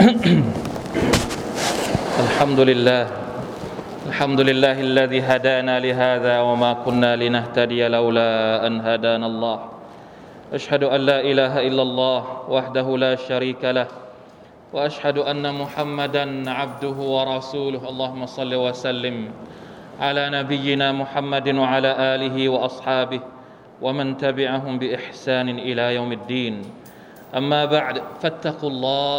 الحمد لله الحمد لله الذي هدانا لهذا وما كنا لنهتدي لولا أن هدانا الله أشهد أن لا إله إلا الله وحده لا شريك له وأشهد أن محمدا عبده ورسوله اللهم صل وسلم على نبينا محمد وعلى آله وأصحابه ومن تبعهم بإحسان إلى يوم الدين أما بعد فاتقوا الله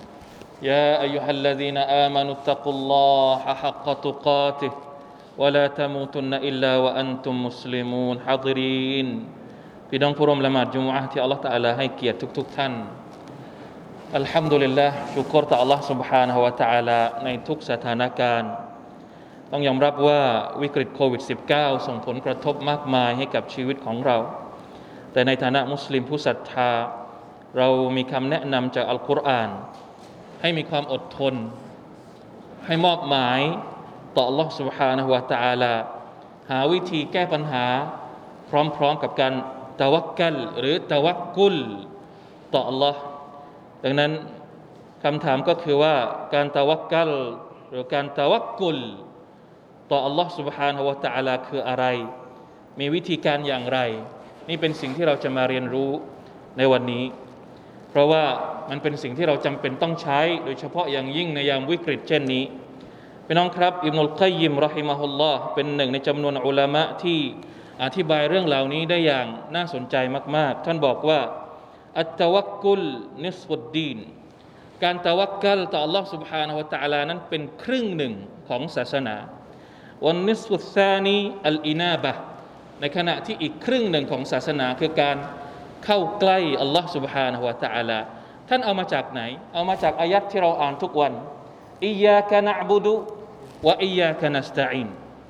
يا أيها الذين آمنوا اتقوا الله حق تقاته ولا تموتن إلا وأنتم مسلمون حاضرين พี่น้องผู้ร่วมละหมาดจุมอะห์ที่อัลเลาะห์ตะอาลาให้เกียรติทุกๆท่านอัลฮัมดุลิลลาห์ชุกรต่ออัลเลาะห์ سبحانه และ تعالى ในทุกสถานการณ์ต้องยอมรับว่าวิกฤตโควิด -19 ส่งผลกระทบมากมายให้กับชีวิตของเราแต่ในฐานะมุสลิมผู้ศรัทธาเรามีคำแนะนำจากอัลกุรอานให้มีความอดทนให้มอบหมายต่อ Allah سبحانه และ تعالى หาวิธีแก้ปัญหาพร้อมๆกับการตะวักกัลหรือตะวักกุลต่อ Allah ดังนั้นคำถามก็คือว่าการตะวักกัลหรือการตะวักกุลต่อ Allah سبحانه และ تعالى คืออะไรมีวิธีการอย่างไรนี่เป็นสิ่งที่เราจะมาเรียนรู้ในวันนี้เพราะว่ามันเป็นสิ่งที่เราจำเป็นต้องใช้โดยเฉพาะอย่างยิ่งในยามวิกฤตเช่นนี้พี่น้องครับอิบนุลกัยยิมเราะฮิมะฮุลลอฮ์เป็นหนึ่งในจำนวนอุลามะที่อธิบายเรื่องเหล่านี้ได้อย่างน่าสนใจมากๆท่านบอกว่าอัตตะวักกุลนิศฟุดดีนการตะวักกัลต่อ Allah سبحانه และ تعالى นั้นเป็นครึ่งหนึ่งของศาสนาวันนิศฟุซซานีอัลอินาบะห์ในขณะที่อีกครึ่งหนึ่งของศาสนาคือการเข้าใกล้อัลลอฮ์ سبحانه และ تعالى ท่านเอามาจากไหนเอามาจากอายัดที่เราอ่านทุกวันอิยยากะนะอ์บุดุวะอิยยากะนัสตะอีน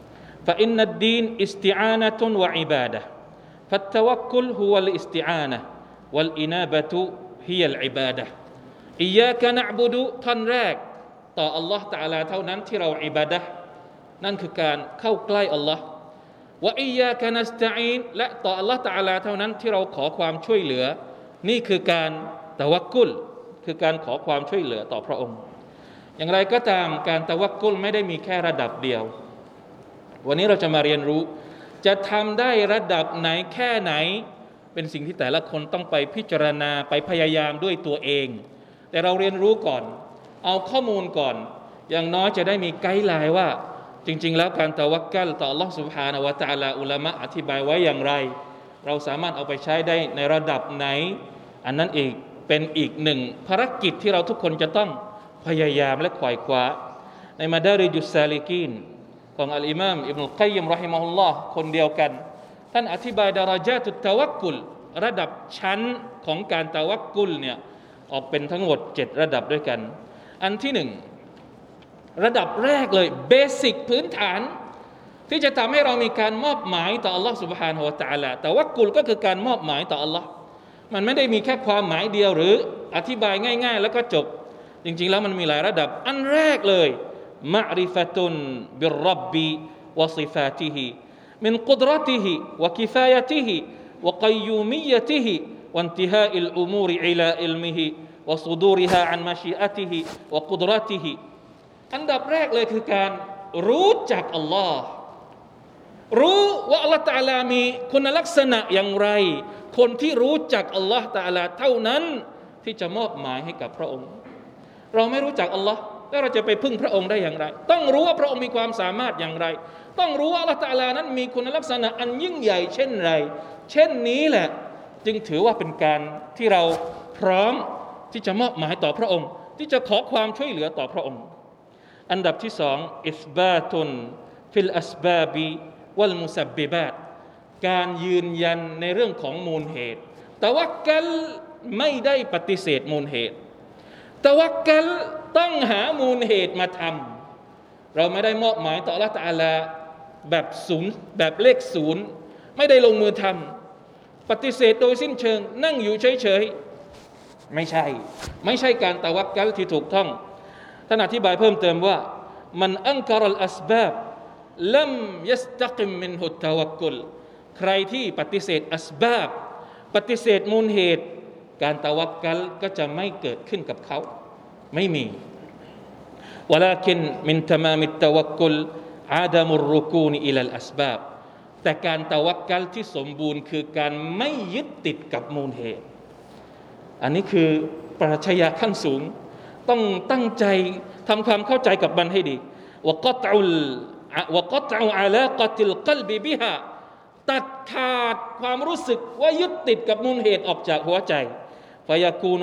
فإن الدين استعانة وعبادة فالتوكل هو الاستعانة والإنابة هي العبادة إياك نعبد ท่อนแรกต่อ Allah تعالى เท่านั้นที่เราอิบาดะห์นั่นคือการเข้าใกล้ Allah วะอิยยากะนัสตะอีนและต่อ Allah تعالى เท่านั้นที่เราขอความช่วยเหลือนี่คือการตะวักกุลคือการขอความช่วยเหลือต่อพระองค์อย่างไรก็ตามการตะวักกุลไม่ได้มีแค่ระดับเดียววันนี้เราจะมาเรียนรู้จะทำได้ระดับไหนแค่ไหนเป็นสิ่งที่แต่ละคนต้องไปพิจารณาไปพยายามด้วยตัวเองแต่เราเรียนรู้ก่อนเอาข้อมูลก่อนอย่างน้อยจะได้มีไกด์ไลน์ว่าจริงๆแล้วการตะวักกัลต่อ Allah سبحانه และ تعالى อุลามะอธิบายไว้อย่างไรเราสามารถเอาไปใช้ได้ในระดับไหนอันนั้นอีกเป็นอีกหนึ่งภารกิจที่เราทุกคนจะต้องพยายามและขวายคว้าในมาดาริจุสซาลิกีนของอัลอิมามอิบนุลกัยยิมเราะฮิมะฮุลลอฮ์คนเดียวกันท่านอธิบายดารญาตุตตะวักกุลระดับชั้นของการตะวักกุลเนี่ยออกเป็นทั้งหมด7ระดับด้วยกันอันที่1ระดับแรกเลยเบสิกพื้นฐานที่จะทำให้เรามีการมอบหมายต่อ Allah سبحانه และ تعالى ตะวักกุลก็คือการมอบหมายต่อ Allah มันไม่ได้มีแค่ความหมายเดียวหรืออธิบายง่ายๆแล้วก็จบจริงๆแล้วมันมีหลายระดับอันแรกเลยมะริฟะตุนบิรร็อบบิวะซิฟาติฮิมินกุดเราะติฮิวะกิฟายะติฮิวะกัยยูมิยะติฮิวะอินติฮาอิลอุมูริอิลาอิลมิฮิวะซุดูริฮาอันมะชีอะติฮิวะกุดเราะติฮิอันดับแรกเลยคือการรู้จักอัลลอฮ์รู้ว่าอัลลอฮ์ตะอาลามีคุณลักษณะอย่างไรคนที่รู้จักอัลลอฮ์ตะอาลาเท่านั้นที่จะมอบหมายให้กับพระองค์เราไม่รู้จักอัลลอฮ์แล้วเราจะไปพึ่งพระองค์ได้อย่างไรต้องรู้ว่าพระองค์มีความสามารถอย่างไรต้องรู้ว่าอัลลอฮ์ตะอาลานั้นมีคุณลักษณะอันยิ่งใหญ่เช่นไรเช่นนี้แหละจึงถือว่าเป็นการที่เราพร้อมที่จะมอบหมายต่อพระองค์ที่จะขอความช่วยเหลือต่อพระองค์อันดับที่2อิสบาตุนฟิลอัสบาบิวัลมุซับบิบาตการยืนยันในเรื่องของมูลเหตุตะวักกัลไม่ได้ปฏิเสธมูลเหตุตะวักกัลต้องหามูลเหตุมาทำเราไม่ได้มอบหมายต่ออัลเลาะห์ตะอาลาแบบศูนย์แบบเลขศูนย์ไม่ได้ลงมือทำปฏิเสธโดยสิ้นเชิงนั่งอยู่เฉยๆไม่ใช่การตะวักกัลที่ถูกต้องท่านอธิบายเพิ่มเติมว่ามันอันกะรัลอัสบาบลัมยัสตะกิมมินฮุตตะวักกุลใครที่ปฏิเสธอัสบาบปฏิเสธมูลเหตุการตะวักกัลก็จะไม่เกิดขึ้นกับเขาไม่มี ولكن من تمام التوكل عدم الركون إلى الأسباب แต่การตะวักกัลที่สมบูรณ์คือการไม่ยึดติดกับมูลเหตุอันนี้คือปรัชญาขั้นสูงต้องตั้งใจทำความเข้าใจกับมันให้ดีوقطع علاقة القلب بها ตัดขาดความรู้สึกว่ายึดติดกับมูลเหตุออกจากหัวใจ فيكون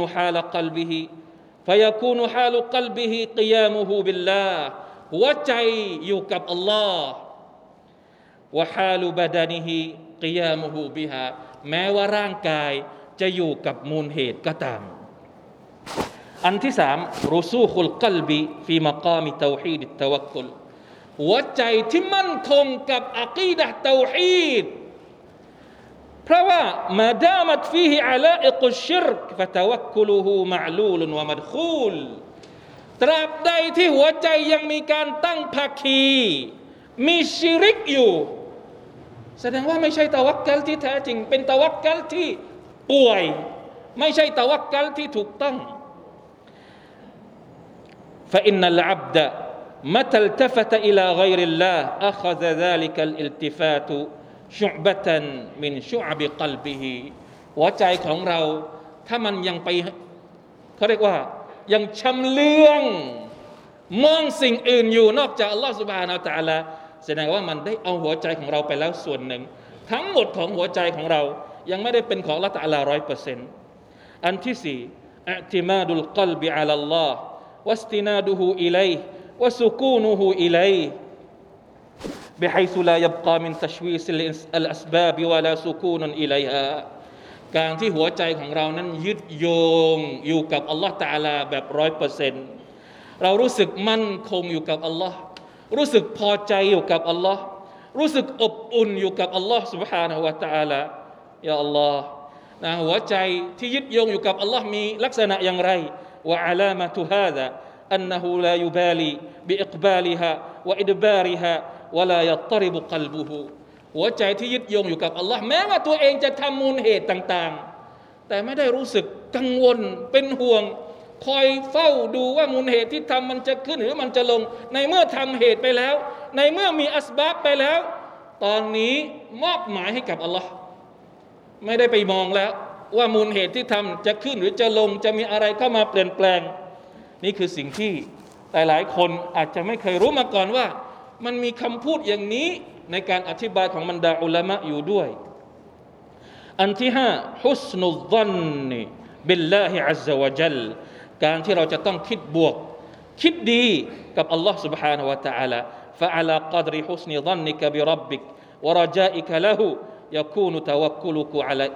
حال قلبه قيامه بالله หัวใจอยู่กับอัลลอฮ์ وحال بدنه قيامه بها แม้ว่าร่างกายจะอยู่กับมูลเหตุก็ตามอันที่สามรุซูคุลกัลบิฟีมะกามิเตาฮีดตะวักกุลหัวใจที่มั่นคงกับอะกีดะห์เตาฮีดเพราะว่ามาดามัตฟีฮิอะลาอิกุชชิรกฟะตะวักกุลุฮูมะอลูลวะมัดคูลตราบใดที่หัวใจยังมีการตั้งภาคีมีชิริกอยู่แสดงว่าไม่ใช่ตะวักกัลที่แท้จริงเป็นตะวักกัลที่ป่วยไม่ใช่ตะวักกัลที่ถูกต้องفإن العبد متى التفت إلى غير الله أخذ ذلك الالتفات شعبة من شعب قلبه หัวใจของเราถ้ามันยังไปเขาเรียกว่ายังชำเลืองมองสิ่งอื่นอยู่นอกจากอัลลอฮฺซุบฮานะฮูวะตะอาลาแสดงว่ามันได้เอาหัวใจของเราไปแล้วส่วนหนึ่งทั้งหมดของหัวใจของเรายังไม่ได้เป็นของอัลลอฮฺตะอาลา 100% อันที่สี่อิอ์ติมาดุลกัลบิอะลัลลอฮ์واستناده إليه وسكونه إليه بحيث لا يبقى من تشويش الأسباب ولا سكون إليها การที่หัวใจของเรานั้นยึดโยงอยู่กับอัลลอฮฺตะอาลาแบบ 100% เรารู้สึกมั่นคงอยู่กับอัลลอฮ์รู้สึกพอใจอยู่กับอัลลอฮ์รู้สึกอบอุ่นอยู่กับอัลลอฮ์ سبحانه และ تعالى ยาอัลลอฮ์นะหัวใจที่ยึดโยงอยู่กับอัลลอฮ์มีลักษณะอย่างไรوعلامة هذا أنه لا يبالي بإقبالها وإدبارها ولا يضطرب قلبه หัวใจที่ยึดโยงอยู่กับอัลลอฮ์แม้ว่าตัวเองจะทำมูลเหตุต่างๆแต่ไม่ได้รู้สึกกังวลเป็นห่วงคอยเฝ้าดูว่ามูลเหตุที่ทำมันจะขึ้นหรือมันจะลงในเมื่อทำเหตุไปแล้วในเมื่อมีอัสบาบไปแล้วตอนนี้มอบหมายให้กับอัลลอฮ์ไม่ได้ไปมองแล้วว่ามูลเหตุที่ทำจะขึ้นหรือจะลงจะมีอะไรเข้ามาเปลี่ยนแปลงนี่คือสิ่งที่หลายคนอาจจะไม่เคยรู้มาก่อนว่ามันมีคำพูดอย่างนี้ในการอธิบายของบรรดาอุลามะอยู่ด้วยอันที่ห้าฮุสนุซซันนิบิลลาฮิอัซซะวะญัลการที่เราจะต้องคิดบวกคิดดีกับอัลลอฮ์ سبحانه และ تعالى فعلى قدر حسن ظنك بربك ورجائك له يكون توكلك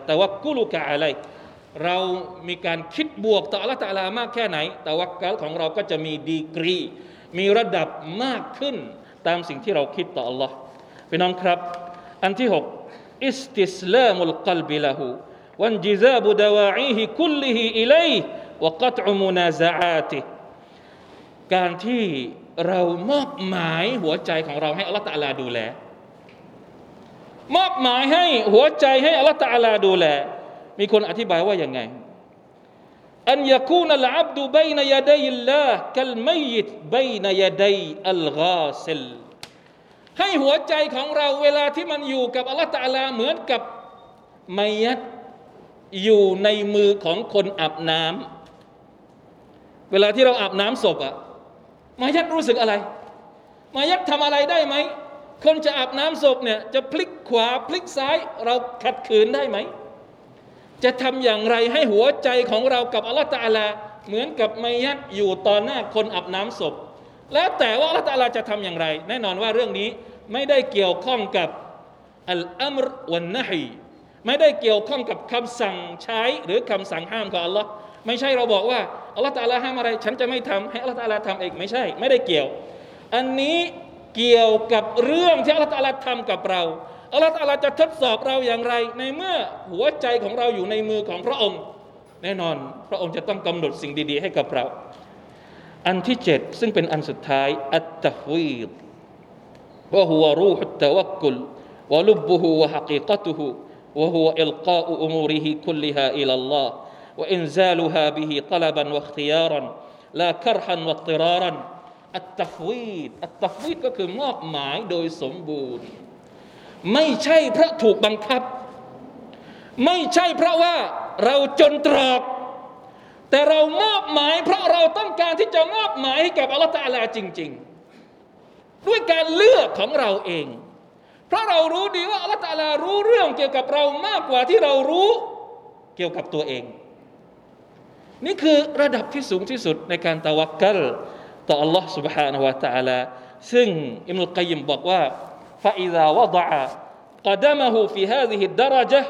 عليه เรามีการคิดบวกต่ออัลเลาะห์ตะอาลามากแค่ไหนตะวักกัลของเราก็จะมีดีกรีมีระดับมากขึ้นตามสิ่งที่เราคิดต่ออัลเลาะห์พี่น้องครับอันที่หกอิสติสลามุลกัลบิละฮูวันจิซาบุดะวาอีฮิคุลลิฮิอิลัยฮิวะกัตอุมุนาซะอาติฮิการที่เรามอบหมายหัวใจของเราให้อัลเลาะห์ตะอาลาดูแลมอบหมายให้หัวใจให้อัลเลาะห์ตะอาลาดูแลมีคนอธิบายว่ายังไงอันยะกูนัลอับดุบัยนะยะดัยอัลลอฮ์กัลมัยยิตบัยนะยะดัยอัลฆาซิลให้หัวใจของเราเวลาที่มันอยู่กับอัลเลาะห์ตะอาลาเหมือนกับมัยยิตอยู่ในมือของคนอาบน้ำเวลาที่เราอาบน้ำศพอะมัยยิตรู้สึกอะไรมัยยิตทำอะไรได้ไหมคนจะอาบน้ำศพเนี่ยจะพลิกขวาพลิกซ้ายเราขัดขืนได้ไหมจะทำอย่างไรให้หัวใจของเรากับอัลเลาะห์ตะอาลาเหมือนกับมัยยิตอยู่ต่อหน้าคนอาบน้ำศพแล้วแต่ว่าอัลเลาะห์ตะอาลาจะทำอย่างไรแน่นอนว่าเรื่องนี้ไม่ได้เกี่ยวข้องกับอัลอัมรวันะฮีไม่ได้เกี่ยวข้องกับคำสั่งใช้หรือคำสั่งห้ามของอัลเลาะห์ไม่ใช่เราบอกว่าอัลเลาะห์ตะอาลาห้ามอะไรฉันจะไม่ทำให้อัลเลาะห์ตะอาลาทำเองไม่ใช่ไม่ได้เกี่ยวอันนี้เกี่ยวกับเรื่องที่อัลเลาะห์ตะอาลาทำกับเราอัลเลาะห์ตะอาลาจะทดสอบเราอย่างไรในเมื่อหัวใจของเราอยู่ในมือของพระองค์แน่นอนพระองค์จะต้องกำหนดสิ่งดีๆให้กับเราอันที่7ซึ่งเป็นอันสุดท้ายอัตตัฟวีดวะฮุวะรูฮุตตะวักกุลวะลุบบุฮุวะฮะกีกะตุฮุวะฮุวะอิลกาอุอุมูริฮิคุลลิฮาอิลัลลอฮ์วะอินซาลุฮาบิฮิตะลับันวะอิഖ്തിയാറൻ ลาคัรฮันวัตติรารันอัตตัฟวีดก็คือมอบหมายโดยสมบูรณ์ไม่ใช่เพราะถูกบังคับไม่ใช่เพราะว่าเราจนตรอกแต่เรามอบหมายเพราะเราต้องการที่จะมอบหมายให้กับอัลเลาะห์ตะอาลาจริงๆด้วยการเลือกของเราเองเพราะเรารู้ดีว่าอัลเลาะห์ตะอาลารู้เรื่องเกี่ยวกับเรามากกว่าที่เรารู้เกี่ยวกับตัวเองนี่คือระดับที่สูงที่สุดในการตะวักกัลต่อ Allah سبحانه และ تعالى ซึ่งอิบนุลกัยยิมบอกว่า فإذا وضع قدمه في هذه الدرجة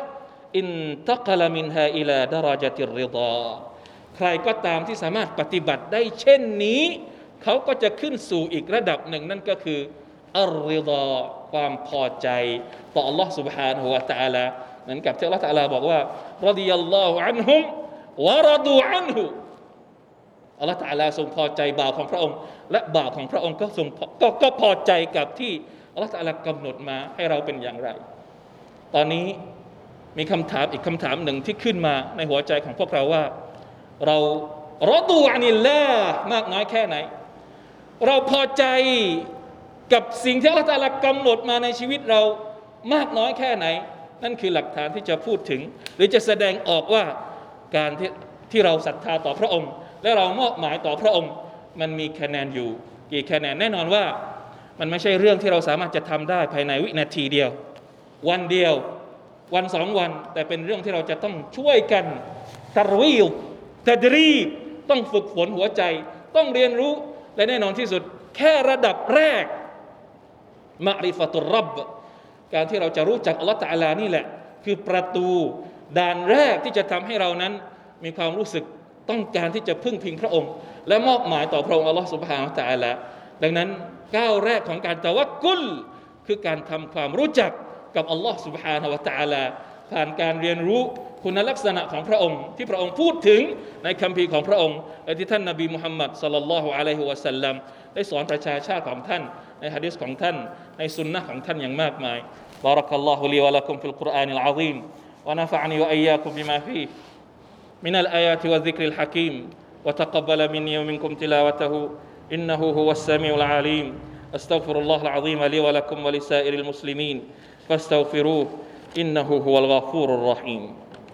انتقل منها إلى درجة الرضا ใครก็ตามที่สามารถปฏิบัติได้เช่นนี้เขาก็จะขึ้นสู่อีกระดับหนึ่งนั่นก็คืออัรริฎอความพอใจต่อ Allah سبحانه และ تعالى เหมือนกับที่ Allah تعالى บอกว่ารอฎิยัลลอฮุอันฮุมวะรอดูอันฮุอัลเลาะห์ตะอาลาทรงพอใจบ่าวของพระองค์และบ่าวของพระองค์ก็พอใจกับที่อัลเลาะห์ตะอาลากำหนดมาให้เราเป็นอย่างไรตอนนี้มีคำถามอีกคำถามหนึ่งที่ขึ้นมาในหัวใจของพวกเราว่าเรารอดูอานิลลาห์มากน้อยแค่ไหนเราพอใจกับสิ่งที่อัลเลาะห์ตะอาลากำหนดมาในชีวิตเรามากน้อยแค่ไหนนั่นคือหลักฐานที่จะพูดถึงหรือจะแสดงออกว่าการที่เราศรัทธาต่อพระองค์และเรามอบหมายต่อพระองค์มันมีคะแนนอยู่กี่คะแนนแน่นอนว่ามันไม่ใช่เรื่องที่เราสามารถจะทำได้ภายในวินาทีเดียววันเดียววันสองวันแต่เป็นเรื่องที่เราจะต้องช่วยกันตะวีลตัดรีบต้องฝึกฝนหัวใจต้องเรียนรู้และแน่นอนที่สุดแค่ระดับแรกมะริฟะตุรร็อบการที่เราจะรู้จักอัลเลาะห์ตะอาลานี่แหละคือประตูด่านแรกที่จะทำให้เรานั้นมีความรู้สึกต้องการที่จะพึ่งพิงพระองค์และมอบหมายต่อพระองค์อัลลอฮฺซุบฮานะฮูวะตะอาลาดังนั้นก้าวแรกของการตะวักกุลคือการทำความรู้จักกับอัลลอฮฺซุบฮานะฮูวะตะอาลาผ่านการเรียนรู้คุณลักษณะของพระองค์ที่พระองค์พูดถึงในคัมภีร์ของพระองค์และที่ท่านนบีมุฮัมมัดศ็อลลัลลอฮุอะลัยฮิวะซัลลัมได้สอนประชาชาติของท่านในหะดีษของท่านในสุนนะห์ของท่านอย่างมากมายบารักัลลอฮุลีวะละกุมฟิลกุรอานิลอะซีมวะนะฟะอะนีวะอียากุมบิมาฟีฮิمن الآيات والذكر الحكيم وتقبل مني ومنكم تلاوته إنه هو السميع العليم أستغفر الله العظيم لي ولكم ولسائر المسلمين فاستغفروه إنه هو الغفور الرحيم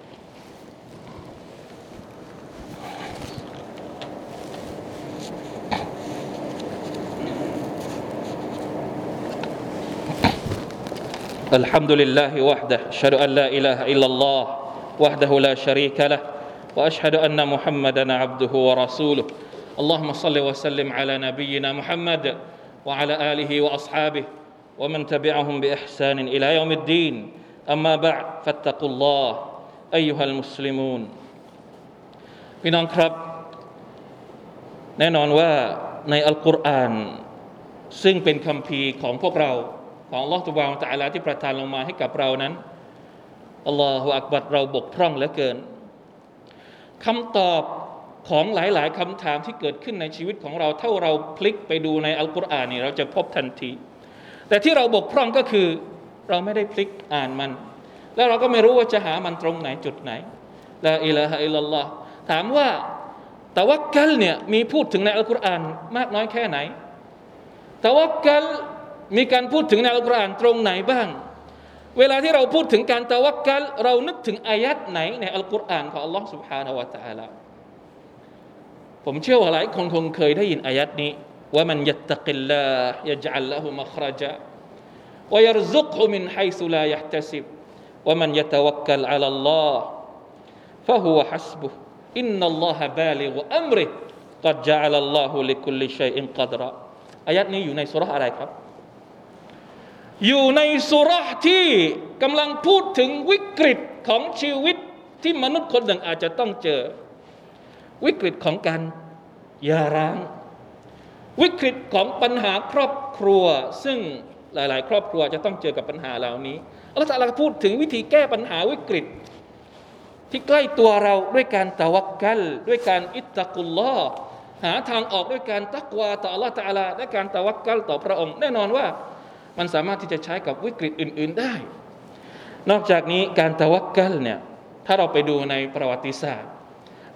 الحمد لله وحده أشهد أن لا إله إلا الله وحده لا شريك له وأشهد أن محمدًا عبده ورسوله اللهم صل وسلم على نبينا محمد وعلى آله وأصحابه ومن تبعهم بإحسان إلى يوم الدين أما بعد فاتقوا الله أيها المسلمون พี่น้องครับแน่นอนว่าในอัลกุรอานซึ่งเป็นคัมภีร์ของพวกเราของอัลเลาะห์ซุบฮานะฮูวะตะอาลาที่ประทานลงมาให้กับเรานั้นอัลลอฮุอักบัรเราบกพร่องเหลือเกินคำตอบของหลายๆคำถามที่เกิดขึ้นในชีวิตของเราถ้าเราพลิกไปดูในอัลกุรอานนี่เราจะพบทันทีแต่ที่เราบกพร่องก็คือเราไม่ได้พลิกอ่านมันแล้วเราก็ไม่รู้ว่าจะหามันตรงไหนจุดไหนลาอิลาฮะอิลลัลลอฮ์ถามว่าตะวักกัลเนี่ยมีพูดถึงในอัลกุรอานมากน้อยแค่ไหนตะวักกัลมีการพูดถึงในอัลกุรอานตรงไหนบ้างเวลาที่เราพูดถึงการตะวักกัลเรานึกถึงอายัดไหนในอัลกุรอานของอัลลอฮ์ سبحانه และ تعالى ผมเชื่อว่าหลายคนคงเคยได้ยินอายัดนี้ว่ามันยัตตะกิลลาฮ์ยัจอัลละฮุมัคเราะญะวะยัรซุกฮุมินไฮซุลายะห์ตะซิบวะมันยะตะวักกัลอะลัลลอฮ์ฟะฮุวะฮัสบุฮ์อินนัลลอฮะบาลิกุอัมริฮ์กัดญะอะลัลลอฮุลิคุลลิชัยอินกัดรออายัดนี้อยู่ในซูเราะห์อะไรครับอยู่ในซูเราะห์ที่กำลังพูดถึงวิกฤตของชีวิตที่มนุษย์คนหนึ่งอาจจะต้องเจอวิกฤตของการหย่าร้างวิกฤตของปัญหาครอบครัวซึ่งหลายๆครอบครัวจะต้องเจอกับปัญหาเหล่านี้อัลเลาะห์ตะอาลาพูดถึงวิธีแก้ปัญหาวิกฤตที่ใกล้ตัวเราด้วยการตะวักกัลด้วยการอิตตักุลลอฮ์หาทางออกด้วยการตักวาต่ออัลเลาะห์ตะอาลาและการตะวักกัลต่อพระองค์แน่นอนว่ามันสามารถที่จะใช้กับวิกฤตอื่นๆได้นอกจากนี้การตะวักกัลเนี่ยถ้าเราไปดูในประวัติศาสตร์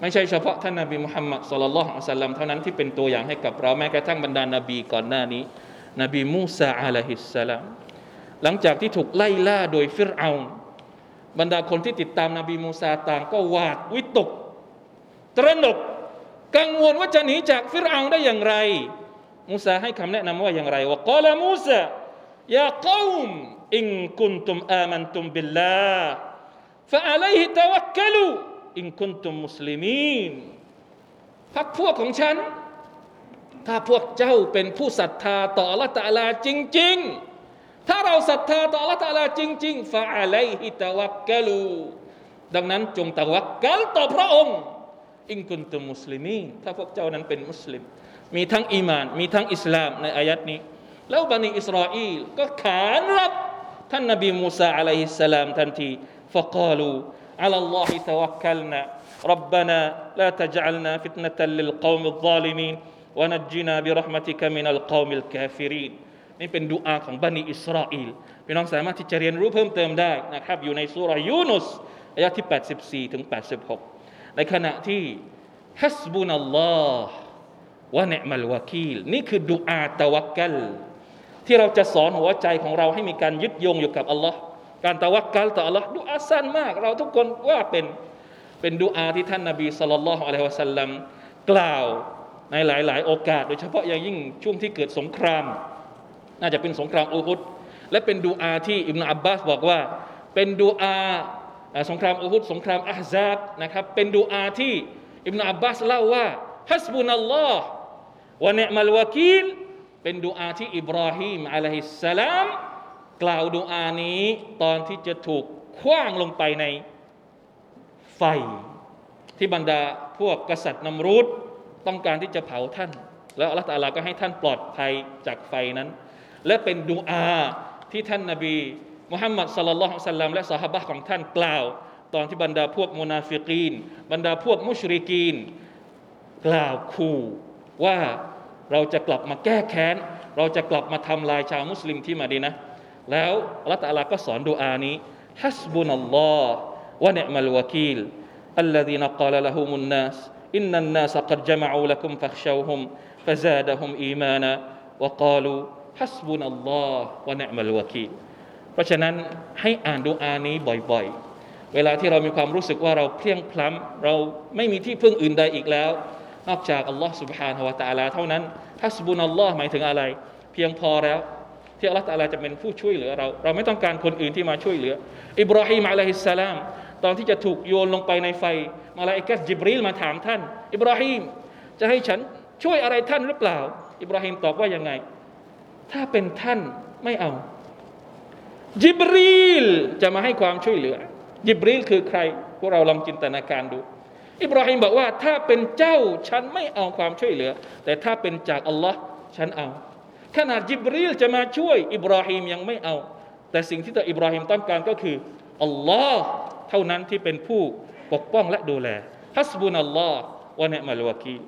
ไม่ใช่เฉพาะท่านนบีมุฮัมมัดศ็อลลัลลอฮุอะลัยฮิวะซัลลัมเท่านั้นที่เป็นตัวอย่างให้กับเราแม้กระทั่งบรรดานบีก่อนหน้านี้นบีมูซาอะลัยฮิสสลามหลังจากที่ถูกไล่ล่าโดยฟิรเอาน์บรรดาคนที่ติดตามนบีมูซาต่างก็หวาดวิตกตระหนกกังวลว่าจะหนีจากฟิรเอาน์ได้อย่างไรมูซาให้คำแนะนำว่าอย่างไรวะกอลามูซายาเกอมอินกุนตุมอามันตุมบิลลาห์ฟะอะลัยฮิตะวักกะลูอินกุนตุมมุสลิมีนพรรคพวกของฉันถ้าพวกเจ้าเป็นผู้ศรัทธาต่ออัลเลาะห์ตะอาลาจริงๆถ้าเราศรัทธาต่ออัลเลาะห์ตะอาลาจริงๆฟะอะลัยฮิตะวักกะลูดังนั้นจงตะวักกัลต่อพระองค์อินกุนตุมมุสลิมีนถ้าพวกเจ้านั้นเป็นมุสลิมมีทั้งอีหม่านมีทั้งอิสลามในอายัดนี้แล้วบันิอิสราอีลก็ขานรับท่านนบีมูซาอะลัยฮิสสลามทันทีฟะกาลูอะลัลลอฮิตะวักกัลนาربنا لا تجعلنا فتنة للقوم الظالمين ونجنا برحمتك من القوم الكافرين นี่เป็นดุอาของบันิอิสราอีลพี่น้องสามารถที่จะเรียนรู้เพิ่มเติมได้นะครับอยู่ในซูเราะห์ยูนุสอายะที่84ถึง86ในขณะที่ฮัสบุนัลลอฮ์วะนิอ์มัลวะกีลนี่คือดุอาตะวักกัลที่เราจะสอนหัวใจของเราให้มีการยึดโยงอยู่กับอัลลอฮ์การตะวักกัลต่ออัลลอฮ์ดุอาสั้นมากเราทุกคนว่าเป็นดุอาที่ท่านนบีศ็อลลัลลอฮุอะลัยฮิวะซัลลัมกล่าวในหลายๆโอกาสโดยเฉพาะอย่างยิ่งช่วงที่เกิดสงครามน่าจะเป็นสงครามอูฮุดและเป็นดุอาที่อิบนุอับบาสบอกว่าเป็นดุอาสงครามอูฮุดสงครามอะห์ซาบนะครับเป็นดุอาที่อิบนุอับบาสเล่าว่าฮัสบุนัลลอฮ์วะนิอ์มัลวะกีลเป็นดุอาที่อิบราฮีมอะลัยฮิสสลามกล่าวดุอานี้ตอนที่จะถูกขว้างลงไปในไฟที่บรรดาพวกกษัตริย์นัมรูดต้องการที่จะเผาท่านแล้วอัลเลาะห์ตะอาลาก็ให้ท่านปลอดภัยจากไฟนั้นและเป็นดุอาที่ท่านนบีมุฮัมมัดศ็อลลัลลอฮุอะลัยฮิวะซัลลัมและซอฮาบะห์ของท่านกล่าวตอนที่บรรดาพวกมุนาฟิกีนบรรดาพวกมุชริกีนกล่าวขู่ว่าเราจะกลับมาแก้แค้นเราจะกลับมาทำลายชาวมุสลิมที่มะดีนะห์แล้วอัลเลาะห์ตะอาลาก็สอนดุอานี้ฮัสบุนัลลอฮ์วะนิอ์มัลวะกีลالذين قال لهم الناس إن الناس قد جمعوا لكم فاخشوهم فزادهم إيمانا وقالوا حسبنا الله ونعم الوكيل เพราะฉะนั้นให้อ่านดุอานี้บ่อยๆเวลาที่เรามีความรู้สึกว่าเราเพลียงพล้ำเราไม่มีที่พึ่งอื่นใดอีกแล้วนอกจากอัลลอฮ์ سبحانه และ تعالى เท่านั้นฮัสบุนัลลอฮ์หมายถึงอะไรเพียงพอแล้วที่อัลลอฮ์ تعالى จะเป็นผู้ช่วยเหลือเราไม่ต้องการคนอื่นที่มาช่วยเหลืออิบราฮีมอะลัยฮิสสลามตอนที่จะถูกโยนลงไปในไฟมาลาอิกะฮ์ญิบรีลมาถามท่านอิบราฮีมจะให้ฉันช่วยอะไรท่านหรือเปล่าอิบราฮีมตอบว่ายังไงถ้าเป็นท่านไม่เอาญิบรีลจะมาให้ความช่วยเหลือญิบรีลคือใครพวกเราลองจินตนาการดูอิบราฮีมบอกว่าถ้าเป็นเจ้าฉันไม่เอาความช่วยเหลือแต่ถ้าเป็นจากอัลลอฮ์ฉันเอาขนาดญิบรีลจะมาช่วยอิบราฮีมยังไม่เอาแต่สิ่งที่ตัวอิบราฮีมต้องการก็คืออัลลอฮ์เท่านั้นที่เป็นผู้ปกป้องและดูแลฮัสบุนัลลอฮ์วะนิอ์มัลวะกีล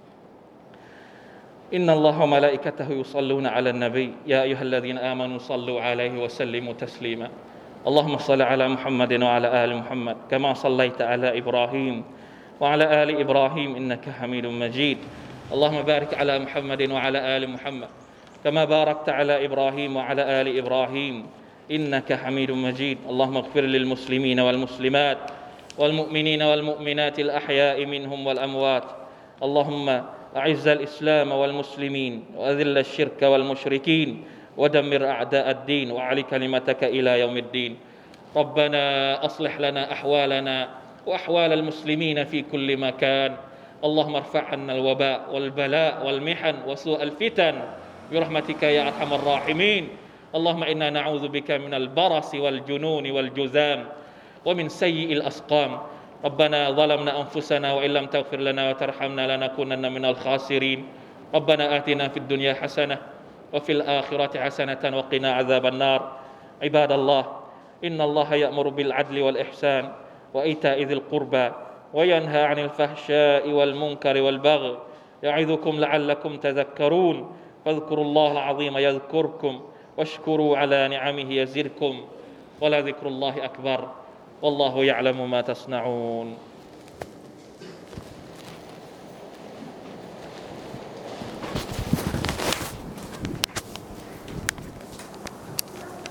อินนัลลอฮะวะมะลาอิกะตะฮุยุศ็อลลูนะอะลันนบียาอัยยูฮัลลซีนาอามานูศ็อลลูอะลัยฮิวะซัลลิมูตัสลีมาاللهم صل على محمد وعلى آل محمد كما صليت على إبراهيم وعلى آل إبراهيم إنك حميد مجيد اللهم بارك على محمد وعلى آل محمد كما باركت على إبراهيم وعلى آل إبراهيم إنك حميد مجيد اللهم اغفر للمسلمين والمسلمات والمؤمنين والمؤمنات الأحياء منهم والأموات اللهم أعز الإسلام والمسلمين وأذل الشرك والمشركين ودمر أعداء الدين وأعل كلمتك إلى يوم الدين ربنا أصلح لنا أحوالنا وأحوال المسلمين في كل مكان اللهم ارفع عنا الوباء والبلاء والمحن وسوء الفتن برحمتك يا أرحم الراحمين اللهم إنا نعوذ بك من البرص والجنون والجذام ومن سيء الأسقام ربنا ظلمنا أنفسنا وإن لم تغفر لنا وترحمنا لنكونن من الخاسرين ربنا آتنا في الدنيا حسنة وفي الآخرة حسنة وقنا عذاب النار عباد الله إن الله يأمر بالعدل والإحسان وإيتاء ذي القربى وينهى عن الفحشاء والمنكر والبغي يعظكم لعلكم تذكرون فاذكروا الله العظيم يذكركم واشكروا على نعمه يزدكم ولذكر الله أكبر والله يعلم ما تصنعون